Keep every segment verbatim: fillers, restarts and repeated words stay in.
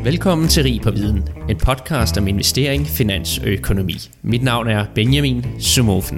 Velkommen til Rig på Viden, en podcast om investering, finans og økonomi. Mit navn er Benjamin Sumofen.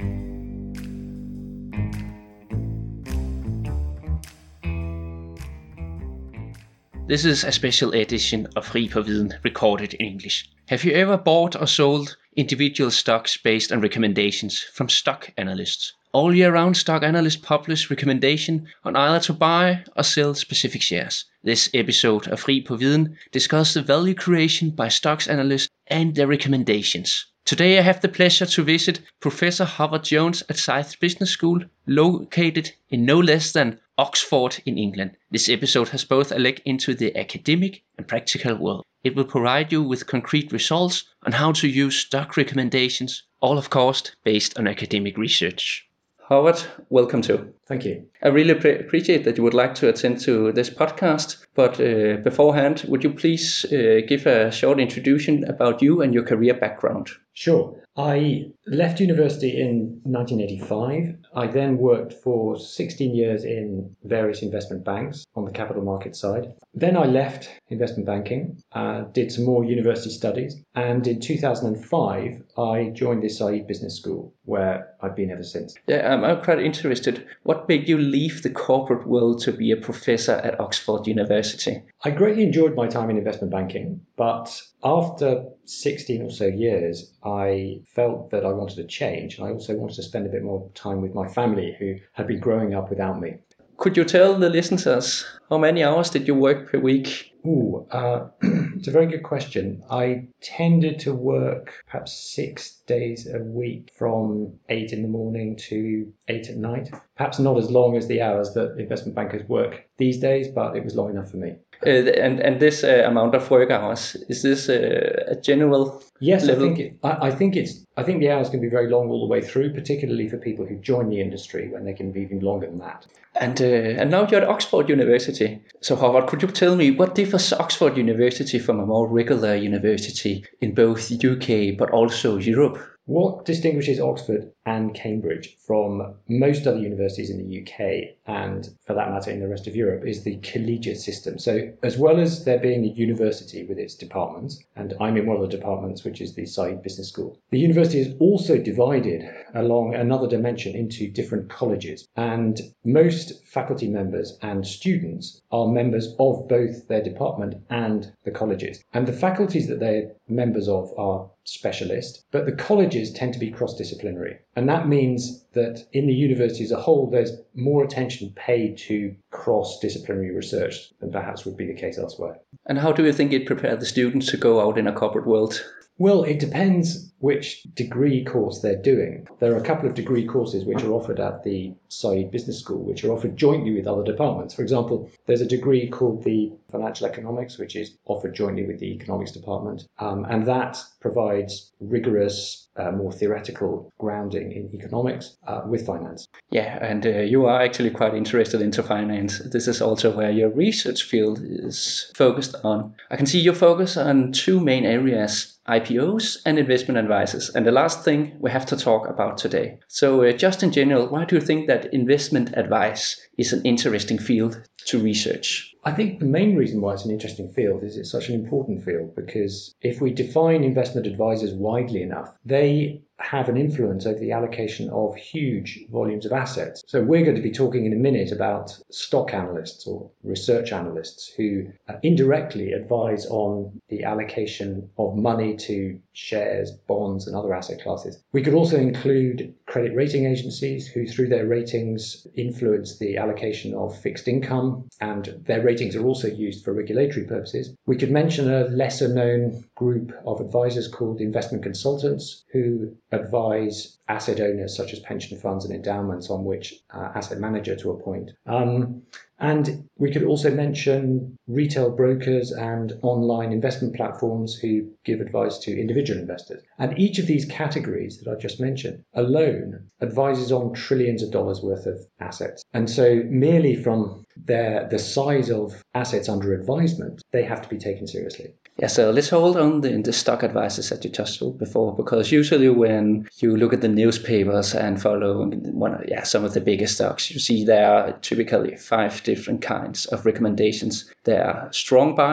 This is a special edition of Rig på Viden recorded in English. Have you ever bought or sold individual stocks based on recommendations from stock analysts? All year round, stock analysts publish recommendation on either to buy or sell specific shares. This episode of Rig på Viden discusses the value creation by stocks analysts and their recommendations. Today I have the pleasure to visit Professor Howard Jones at Scythe Business School, located in no less than Oxford in England. This episode has both a leg into the academic and practical world. It will provide you with concrete results on how to use stock recommendations, all of course based on academic research. Howard, welcome to. Thank you. I really pre- appreciate that you would like to attend to this podcast, but uh, beforehand, would you please uh, give a short introduction about you and your career background? Sure. I left university in nineteen eighty-five. I then worked for sixteen years in various investment banks on the capital market side. Then I left investment banking, uh, did some more university studies, and in two thousand five I joined the Scythe Business School, where I've been ever since. Yeah, um, I'm quite interested. What made you leave the corporate world to be a professor at Oxford University? I greatly enjoyed my time in investment banking, but after sixteen or so years, I felt that I wanted to change. And I also wanted to spend a bit more time with my family, who had been growing up without me. Could you tell the listeners how many hours did you work per week? Ooh, uh, it's a very good question. I tended to work perhaps six days a week from eight in the morning to eight at night. Perhaps not as long as the hours that investment bankers work these days, but it was long enough for me. Uh, and and this uh, amount of work hours, is this uh, a general yes, level? I think it, I, I think it's I think the hours can be very long all the way through, particularly for people who join the industry when they can be even longer than that. And uh, and now you're at Oxford University. So Howard, could you tell me what differs Oxford University from a more regular university in both U K but also Europe? What distinguishes Oxford and Cambridge from most other universities in the U K, and for that matter in the rest of Europe, is the collegiate system. So as well as there being a university with its departments, and I'm in one of the departments, which is the Scythe Business School, the university is also divided along another dimension into different colleges. And most faculty members and students are members of both their department and the colleges. And the faculties that they're members of are specialist, but the colleges tend to be cross-disciplinary. And that means that in the university as a whole, there's more attention paid to cross-disciplinary research than perhaps would be the case elsewhere. And how do you think it prepared the students to go out in a corporate world? Well, it depends which degree course they're doing. There are a couple of degree courses which are offered at the Scythe Business School, which are offered jointly with other departments. For example, there's a degree called the Financial Economics, which is offered jointly with the Economics Department. Um, and that provides rigorous, uh, more theoretical grounding in economics uh, with finance. Yeah, and uh, you are actually quite interested into finance. This is also where your research field is focused on. I can see you focus on two main areas: I P Os and investment advisors. And the last thing we have to talk about today. So uh, just in general, why do you think that investment advice is an interesting field to research? I think the main reason why it's an interesting field is it's such an important field, because if we define investment advisors widely enough, they have an influence over the allocation of huge volumes of assets. So we're going to be talking in a minute about stock analysts or research analysts who uh, indirectly advise on the allocation of money to shares, bonds, and other asset classes. We could also include credit rating agencies who, through their ratings, influence the allocation of fixed income, and their ratings are also used for regulatory purposes. We could mention a lesser known group of advisors called investment consultants, who advise asset owners such as pension funds and endowments on which uh, asset manager to appoint. Um, and we could also mention retail brokers and online investment platforms who give advice to individual investors. And each of these categories that I just mentioned alone advises on trillions of dollars worth of assets. And so merely from their the size of assets under advisement, they have to be taken seriously. Yeah, so let's hold on the, the stock advisors that you touched on before, because usually when you look at the newspapers and follow one of, yeah, some of the biggest stocks, you see there are typically five different kinds of recommendations. There are strong buy,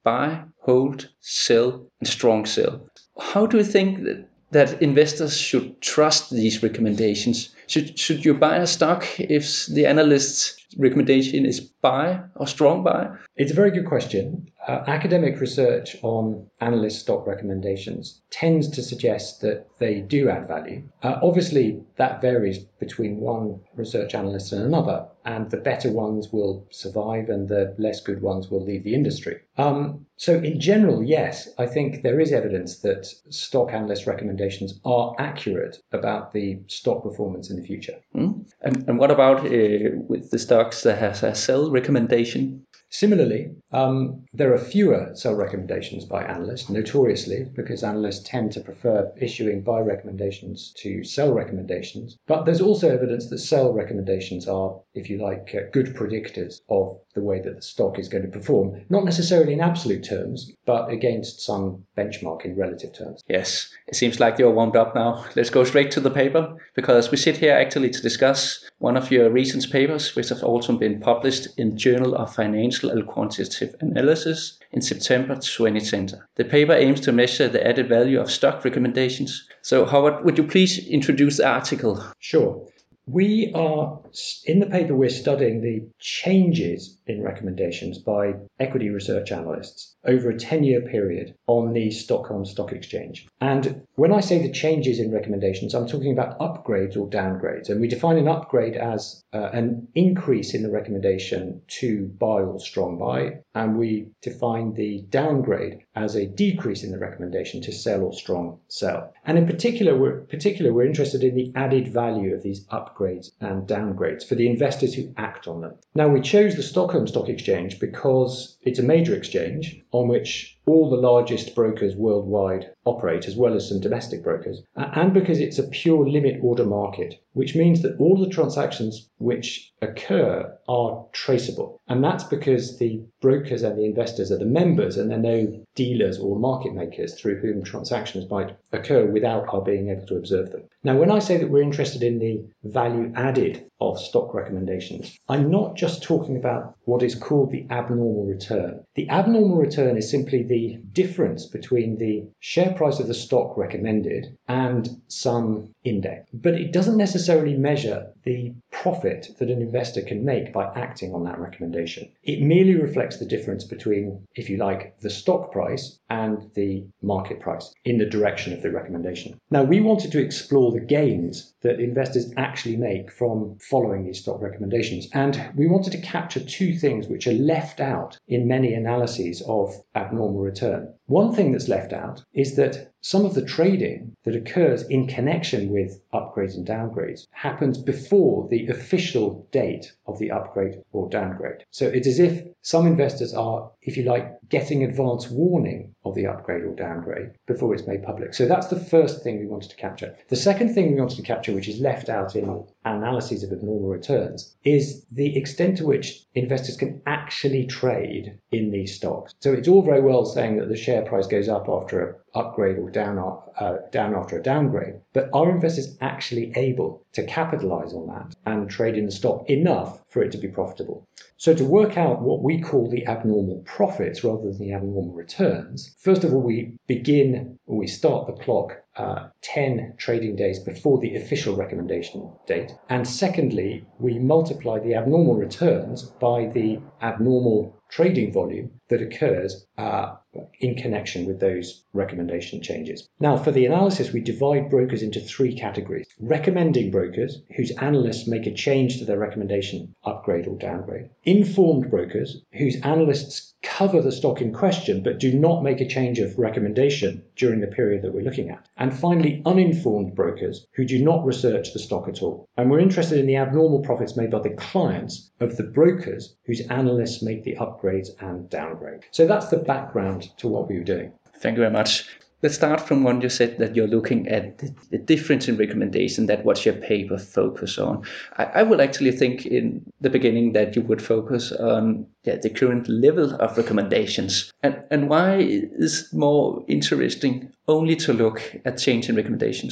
buy, hold, sell, and strong sell. How do you think that, that investors should trust these recommendations? Should, should you buy a stock if the analyst's recommendation is buy or strong buy? It's a very good question. Uh, academic research on analyst stock recommendations tends to suggest that they do add value. Uh, obviously, that varies between one research analyst and another, and the better ones will survive and the less good ones will leave the industry. Um, so in general, yes, I think there is evidence that stock analyst recommendations are accurate about the stock performance in the future. Mm. And, and what about uh, with the stocks that has a sell recommendation? Similarly, um, there are fewer sell recommendations by analysts, notoriously, because analysts tend to prefer issuing buy recommendations to sell recommendations. But there's also evidence that sell recommendations are, if you like, uh, good predictors of the way that the stock is going to perform, not necessarily in absolute terms, but against some benchmark in relative terms. Yes, it seems like you're warmed up now. Let's go straight to the paper, because we sit here actually to discuss one of your recent papers, which have also been published in Journal of Financial and Quantitative Analysis in September twenty twenty. The paper aims to measure the added value of stock recommendations. So, Howard, would you please introduce the article? Sure. We are, in the paper, we're studying the changes in recommendations by equity research analysts over a ten-year period on the Stockholm Stock Exchange. And when I say the changes in recommendations, I'm talking about upgrades or downgrades. And we define an upgrade as uh, an increase in the recommendation to buy or strong buy. And we define the downgrade as a decrease in the recommendation to sell or strong sell. And in particular, we're, particular, we're interested in the added value of these upgrades and downgrades for the investors who act on them. Now, we chose the Stockholm Stock Exchange because it's a major exchange on which all the largest brokers worldwide operate, as well as some domestic brokers, and because it's a pure limit order market, which means that all the transactions which occur are traceable. And that's because the brokers and the investors are the members, and there are no dealers or market makers through whom transactions might occur without our being able to observe them. Now, when I say that we're interested in the value added of stock recommendations, I'm not just talking about what is called the abnormal return. The abnormal return is simply the difference between the share price of the stock recommended and some index. But it doesn't necessarily measure the profit that an investor can make by acting on that recommendation. It merely reflects the difference between, if you like, the stock price and the market price in the direction of the recommendation. Now, we wanted to explore the gains that investors actually make from following these stock recommendations. And we wanted to capture two things which are left out in many analyses of abnormal return. One thing that's left out is that some of the trading that occurs in connection with upgrades and downgrades happens before the official date of the upgrade or downgrade. So it's as if some investors are, if you like, getting advance warning of the upgrade or downgrade before it's made public. So that's the first thing we wanted to capture. The second thing we wanted to capture, which is left out in analyses of abnormal returns, is the extent to which investors can actually trade in these stocks. So it's all very well saying that the share price goes up after an upgrade or down, uh, down after a downgrade, but are investors actually able to capitalize on that and trade in the stock enough for it to be profitable? So to work out what we call the abnormal profits rather than the abnormal returns, first of all, we begin, or we start the clock uh, ten trading days before the official recommendation date. And secondly, we multiply the abnormal returns by the abnormal trading volume that occurs uh, in connection with those recommendation changes. Now, for the analysis, we divide brokers into three categories. Recommending brokers, whose analysts make a change to their recommendation, upgrade or downgrade. Informed brokers, whose analysts cover the stock in question but do not make a change of recommendation during the period that we're looking at. And finally, uninformed brokers, who do not research the stock at all. And we're interested in the abnormal profits made by the clients of the brokers whose analysts make the upgrades and downgrade. So that's the background to what we were doing. Thank you very much. Let's start from when you said that you're looking at the, the difference in recommendation, that what your paper focus on. I, I would actually think in the beginning that you would focus on yeah, the current level of recommendations. And, and why is it more interesting only to look at change in recommendations?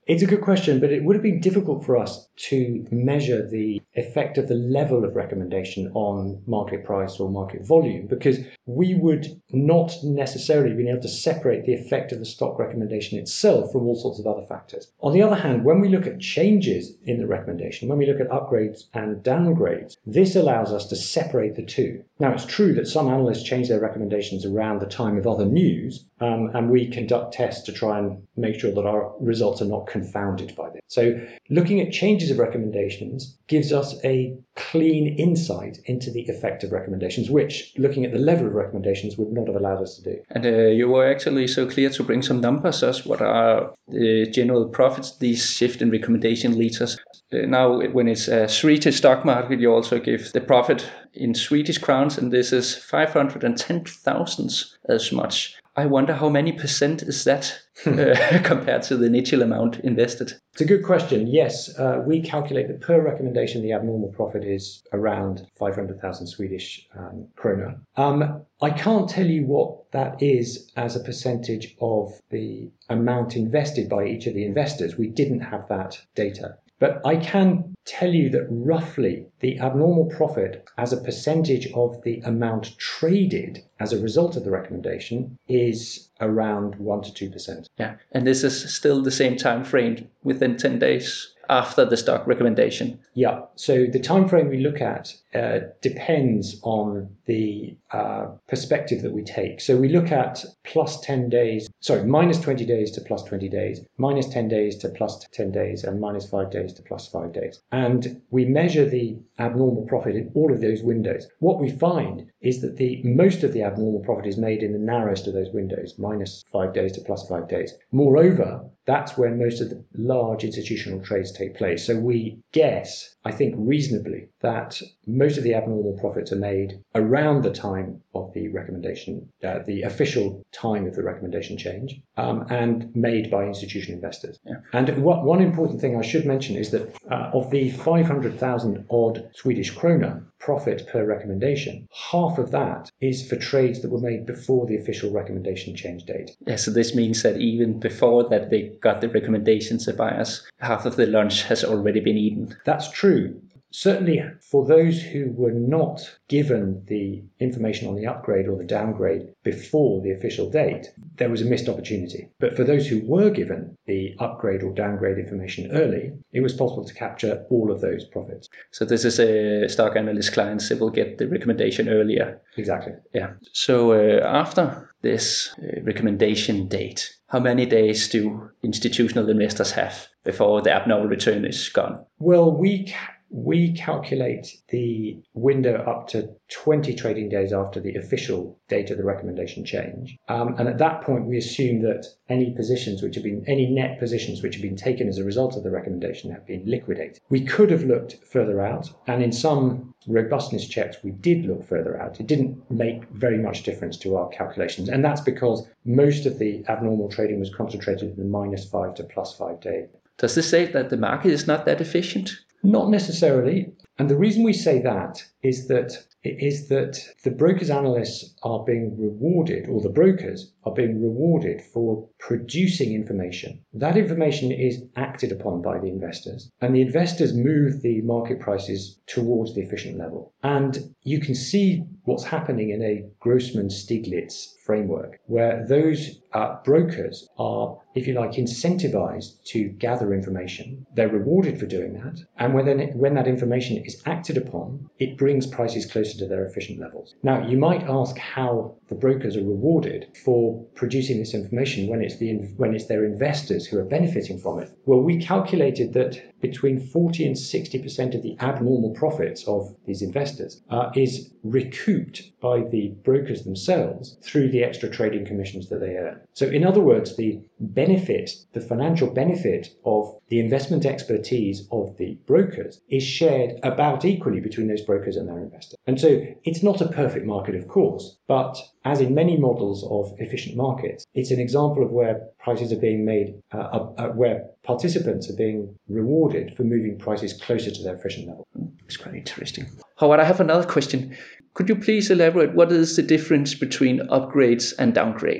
It's a good question, but it would have been difficult for us to measure the effect of the level of recommendation on market price or market volume, because we would not necessarily be able to separate the effect of the stock recommendation itself from all sorts of other factors. On the other hand, when we look at changes in the recommendation, when we look at upgrades and downgrades, this allows us to separate the two. Now, it's true that some analysts change their recommendations around the time of other news, um, and we conduct tests to try and make sure that our results are not confounded by this. So looking at changes of recommendations gives us a clean insight into the effect of recommendations, which looking at the level of recommendations would not have allowed us to do. And uh, you were actually so clear to bring some numbers as what are the general profits these shift in recommendation leads us. Uh, now, when it's a Swedish stock market, you also give the profit in Swedish crowns, and this is five hundred ten thousand as much. I wonder how many percent is that uh, compared to the initial amount invested? It's a good question. Yes, uh, we calculate that per recommendation, the abnormal profit is around five hundred thousand Swedish um, krona. Um, I can't tell you what that is as a percentage of the amount invested by each of the investors. We didn't have that data. But I can tell you that roughly the abnormal profit as a percentage of the amount traded as a result of the recommendation is around one to two percent. Yeah, and this is still the same time frame within ten days after the stock recommendation. Yeah, so the time frame we look at uh, depends on the uh, perspective that we take. So we look at plus ten days, sorry, minus twenty days to plus twenty days, minus ten days to plus ten days, and minus five days to plus five days. And we measure the abnormal profit in all of those windows. What we find is that the most of the abnormal profit is made in the narrowest of those windows, minus five days to plus five days. Moreover, that's when most of the large institutional trades take place. So we guess, I think reasonably, that most of the abnormal profits are made around the time of the recommendation, uh, the official time of the recommendation change, um, and made by institutional investors. Yeah. And what, one important thing I should mention is that uh, of the five hundred thousand odd Swedish krona profit per recommendation, half of that is for trades that were made before the official recommendation change date. Yeah, so this means that even before that they got the recommendations, the buyers, half of the lunch has already been eaten. That's true. Certainly for those who were not given the information on the upgrade or the downgrade before the official date, there was a missed opportunity. But for those who were given the upgrade or downgrade information early, it was possible to capture all of those profits. So this is a stock analyst clients that will get the recommendation earlier. Exactly. Yeah. So uh, after this uh, recommendation date, how many days do institutional investors have before the abnormal return is gone? Well, we ca- we calculate the window up to twenty trading days after the official date of the recommendation change. Um, and at that point, we assume that any positions which have been, any net positions which have been taken as a result of the recommendation have been liquidated. We could have looked further out, and in some robustness checks, we did look further out. It didn't make very much difference to our calculations. And that's because most of the abnormal trading was concentrated in the minus five to plus five day. Does this say that the market is not that efficient? Not necessarily. And the reason we say that is that is that the brokers analysts are being rewarded, or the brokers are being rewarded for producing information. That information is acted upon by the investors, and the investors move the market prices towards the efficient level. And you can see what's happening in a Grossman-Stiglitz framework, where those uh, brokers are, if you like, incentivized to gather information. They're rewarded for doing that. And when, then, when that information is acted upon, it brings prices closer to their efficient levels. Now, you might ask how the brokers are rewarded for producing this information when it's, the, when it's their investors who are benefiting from it. Well, we calculated that between forty and sixty percent of the abnormal profits of these investors uh, is recouped by the brokers themselves through the extra trading commissions that they earn. So in other words, the benefit, the financial benefit of the investment expertise of the brokers is shared about equally between those brokers and their investors. And so it's not a perfect market, of course, but as in many models of efficient markets, it's an example of where prices are being made, uh, uh, where participants are being rewarded for moving prices closer to their efficient level. It's quite interesting. Howard, I have another question. Could you please elaborate what is the difference between upgrades and downgrades?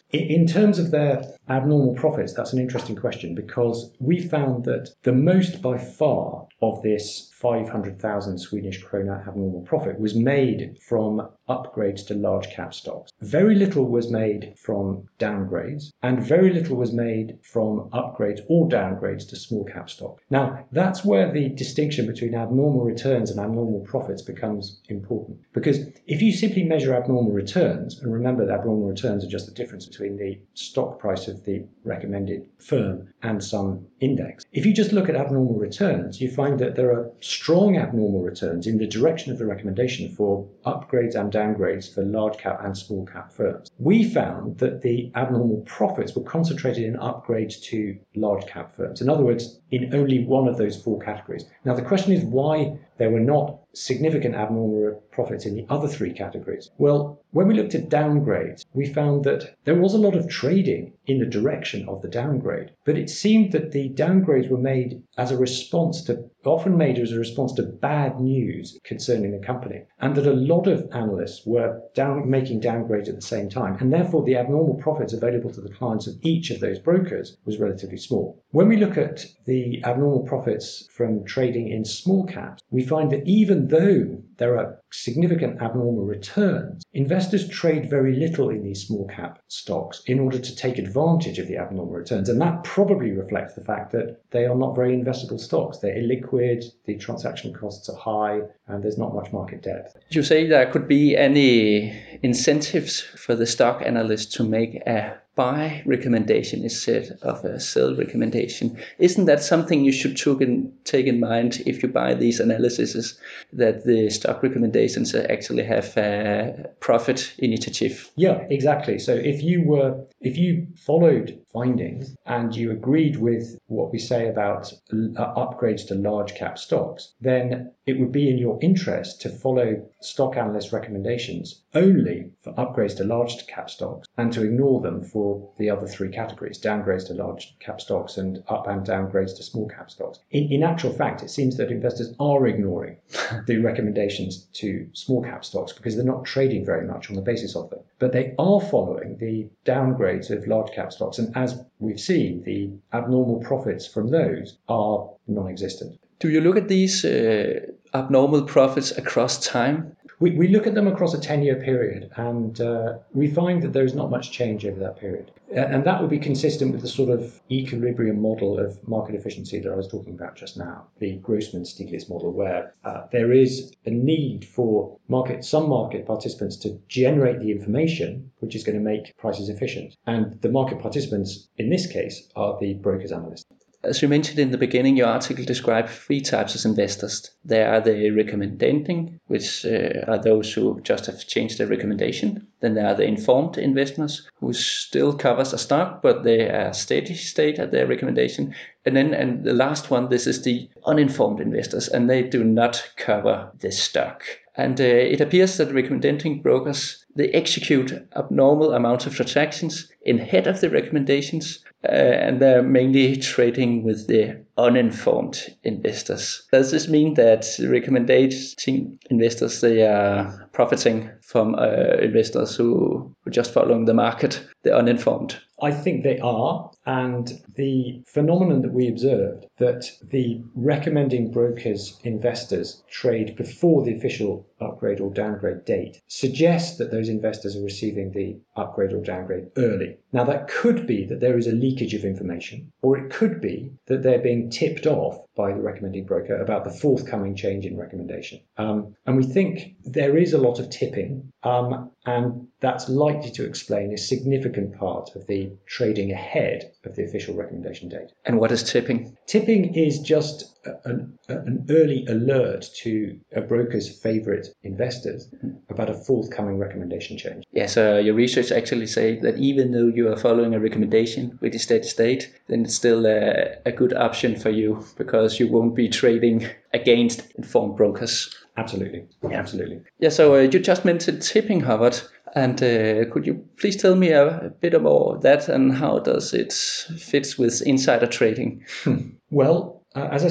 In terms of their abnormal profits, that's an interesting question, because we found that the most by far of this five hundred thousand Swedish krona abnormal profit was made from upgrades to large cap stocks. Very little was made from downgrades, and very little was made from upgrades or downgrades to small cap stock. Now, that's where the distinction between abnormal returns and abnormal profits becomes important. Because if you simply measure abnormal returns, and remember that abnormal returns are just the difference between the stock price of the recommended firm and some index. If you just look at abnormal returns, you find that there are strong abnormal returns in the direction of the recommendation for upgrades and downgrades for large cap and small cap firms. We found that the abnormal profits were concentrated in upgrades to large cap firms. In other words, in only one of those four categories. Now, the question is why there were not significant abnormal profits in the other three categories. Well, when we looked at downgrades, we found that there was a lot of trading in the direction of the downgrade, but it seemed that the downgrades were made as a response to, often made as a response to bad news concerning the company, and that a lot of analysts were down, making downgrades at the same time, and therefore the abnormal profits available to the clients of each of those brokers was relatively small. When we look at the abnormal profits from trading in small caps, we find that even though there are significant abnormal returns, investors trade very little in these small cap stocks in order to take advantage of the abnormal returns. And that probably reflects the fact that they are not very investable stocks. They're illiquid, the transaction costs are high, and there's not much market depth. You say there could be any incentives for the stock analyst to make a buy recommendation instead of a sell recommendation. Isn't that something you should take in, take in mind if you buy these analyses, that the stock recommendations actually have a profit initiative? Yeah, exactly. So if you were, if you followed findings and you agreed with what we say about upgrades to large cap stocks, then it would be in your interest to follow stock analyst recommendations only for upgrades to large cap stocks and to ignore them for the other three categories, downgrades to large cap stocks and up and downgrades to small cap stocks. In, in actual fact, it seems that investors are ignoring the recommendations to small cap stocks because they're not trading very much on the basis of them. But they are following the downgrades of large cap stocks. And as we've seen, the abnormal profits from those are non-existent. Do you look at these uh, abnormal profits across time? We, we look at them across a ten-year period, and uh, we find that there's not much change over that period. And that would be consistent with the sort of equilibrium model of market efficiency that I was talking about just now, the Grossman-Stiglitz model, where uh, there is a need for market, some market participants to generate the information which is going to make prices efficient. And the market participants in this case are the brokers analysts. As you mentioned in the beginning, your article describes three types of investors. There are the recommending, which uh, are those who just have changed their recommendation. Then there are the informed investors, who still covers a stock, but they are steady state at their recommendation. And then and the last one, this is the uninformed investors, and they do not cover the stock. And uh, it appears that recommending brokers, they execute abnormal amounts of transactions ahead of the recommendations, uh, and they're mainly trading with the uninformed investors. Does this mean that recommending investors, they are profiting from uh, investors who are just following the market, the uninformed? I think they are, and the phenomenon that we observed, that the recommending brokers investors trade before the official upgrade or downgrade date, suggests that those investors are receiving the upgrade or downgrade early. Now, that could be that there is a leakage of information, or it could be that they're being tipped off by the recommending broker about the forthcoming change in recommendation. Um, and we think there is a lot of tipping, um, and that's likely to explain a significant part of the trading ahead of the official recommendation date. And what is tipping? Tipping is just an, an early alert to a broker's favorite investors about a forthcoming recommendation change. Yeah, so your research actually say that even though you are following a recommendation with a steady state, then it's still a, a good option for you because you won't be trading against informed brokers. Absolutely. Yeah, absolutely. Yeah, so uh, you just mentioned tipping, Howard. And uh, could you please tell me a, a bit about that and how does it fit with insider trading? Well, uh, as I said,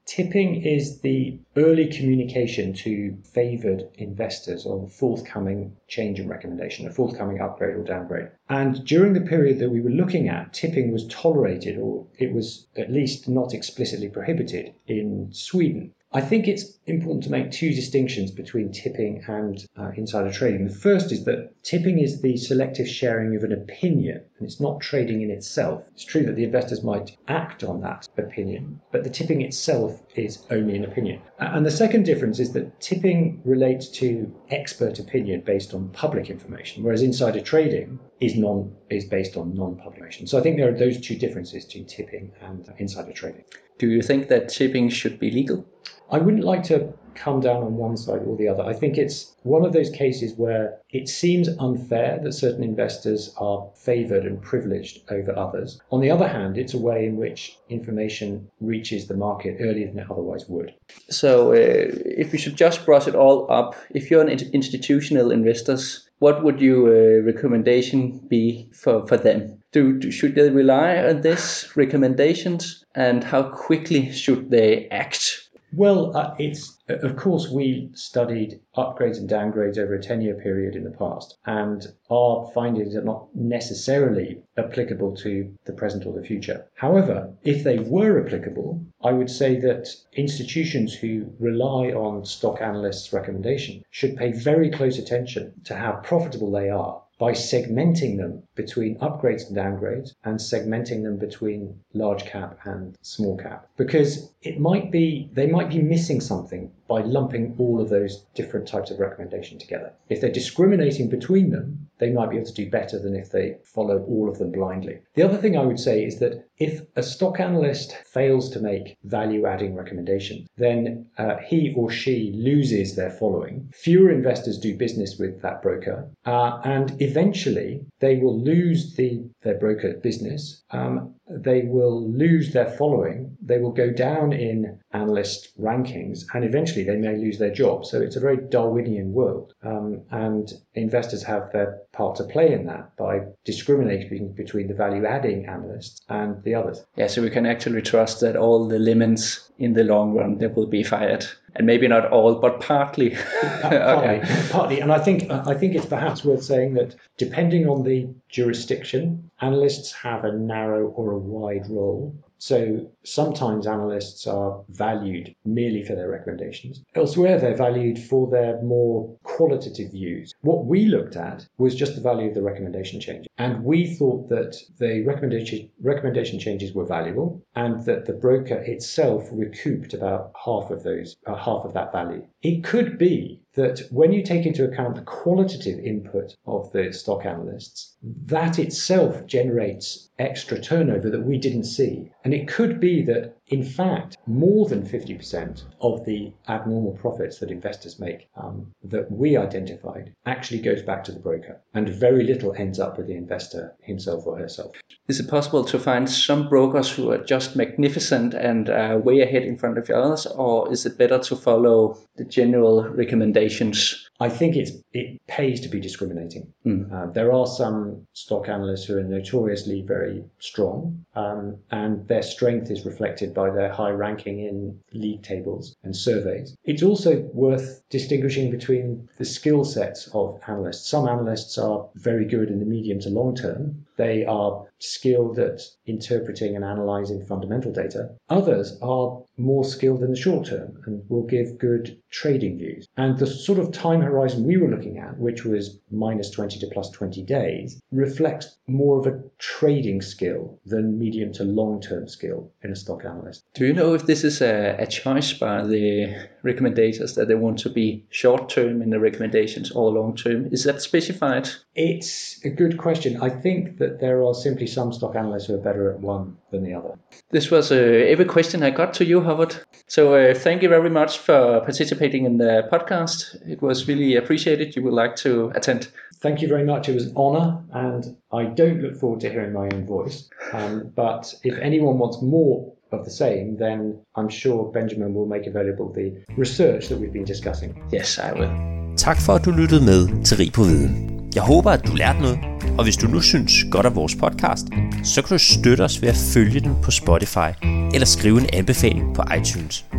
Tipping is the early communication to favoured investors on forthcoming change in recommendation, a forthcoming upgrade or downgrade. And during the period that we were looking at, tipping was tolerated, or it was at least not explicitly prohibited in Sweden. I think it's important to make two distinctions between tipping and uh, insider trading. The first is that tipping is the selective sharing of an opinion, and it's not trading in itself. It's true that the investors might act on that opinion, but the tipping itself is only an opinion. And the second difference is that tipping relates to expert opinion based on public information, whereas insider trading is non is based on non-public information. So I think there are those two differences between tipping and insider trading. Do you think that tipping should be legal? I wouldn't like to come down on one side or the other. I think it's one of those cases where it seems unfair that certain investors are favoured and privileged over others. On the other hand, it's a way in which information reaches the market earlier than it otherwise would. So uh, if we should just brush it all up, if you're an institutional investors, what would your uh, recommendation be for, for them? Do, do should they rely on these recommendations, and how quickly should they act? Well, uh, it's of course we studied upgrades and downgrades over a ten-year period in the past, and our findings are not necessarily applicable to the present or the future. However, if they were applicable, I would say that institutions who rely on stock analysts' recommendation should pay very close attention to how profitable they are by segmenting them between upgrades and downgrades, and segmenting them between large cap and small cap. Because it might be, they might be missing something by lumping all of those different types of recommendation together. If they're discriminating between them, they might be able to do better than if they follow all of them blindly. The other thing I would say is that if a stock analyst fails to make value-adding recommendations, then uh, he or she loses their following. Fewer investors do business with that broker, uh, and eventually they will lose the their broker business. Um, they will lose their following. They will go down in analyst rankings, and eventually they may lose their job. So it's a very Darwinian world, um, and investors have their part to play in that by discriminating between the value-adding analysts and the others. Yeah, so we can actually trust that all the lemons in the long run they will be fired, and maybe not all, but partly. partly, okay. partly, and I think I think it's perhaps worth saying that depending on the jurisdiction, analysts have a narrow or a wide role. So sometimes analysts are valued merely for their recommendations. Elsewhere, they're valued for their more qualitative views. What we looked at was just the value of the recommendation change. And we thought that the recommendation, recommendation changes were valuable, and that the broker itself recouped about half of those, uh, half of that value. It could be that when you take into account the qualitative input of the stock analysts, that itself generates extra turnover that we didn't see. And it could be that, in fact, more than fifty percent of the abnormal profits that investors make um, that we identified actually goes back to the broker, and very little ends up with the investor himself or herself. Is it possible to find some brokers who are just magnificent and uh, way ahead in front of the others, or is it better to follow the general recommendations? I think it's it pays to be discriminating. Mm. Uh, there are some stock analysts who are notoriously very strong, um, and their strength is reflected by their high ranking in league tables and surveys. It's also worth distinguishing between the skill sets of analysts. Some analysts are very good in the medium to long term. They are skilled at interpreting and analysing fundamental data. Others are more skilled in the short term and will give good trading views. And the sort of time horizon we were looking at, which was minus twenty to plus twenty days, reflects more of a trading skill than medium to long-term skill in a stock analyst. Do you know if this is a, a choice by the recommendators that they want to be short-term in the recommendations or long-term? Is that specified? It's a good question. I think that there are simply some stock analysts who are better at one than the other. This was uh, every question I got to you, Howard. So uh, thank you very much for participating in the podcast. It was really appreciated. You would like to attend. Thank you very much. It was an honour, and I don't look forward to hearing my own voice. Um, but if anyone wants more of the same, then I'm sure Benjamin will make available the research that we've been discussing. Yes, I will. Tak for, at du lyttede med til Rig på Viden. Jeg håber, at du lærte noget, og hvis du nu synes godt af vores podcast, så kan du støtte os ved at følge den på Spotify eller skrive en anbefaling på iTunes.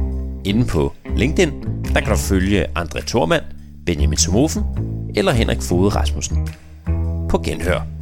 Inde på LinkedIn, der kan du følge André Thormand, Benjamin Somofen eller Henrik Foged Rasmussen. På genhør.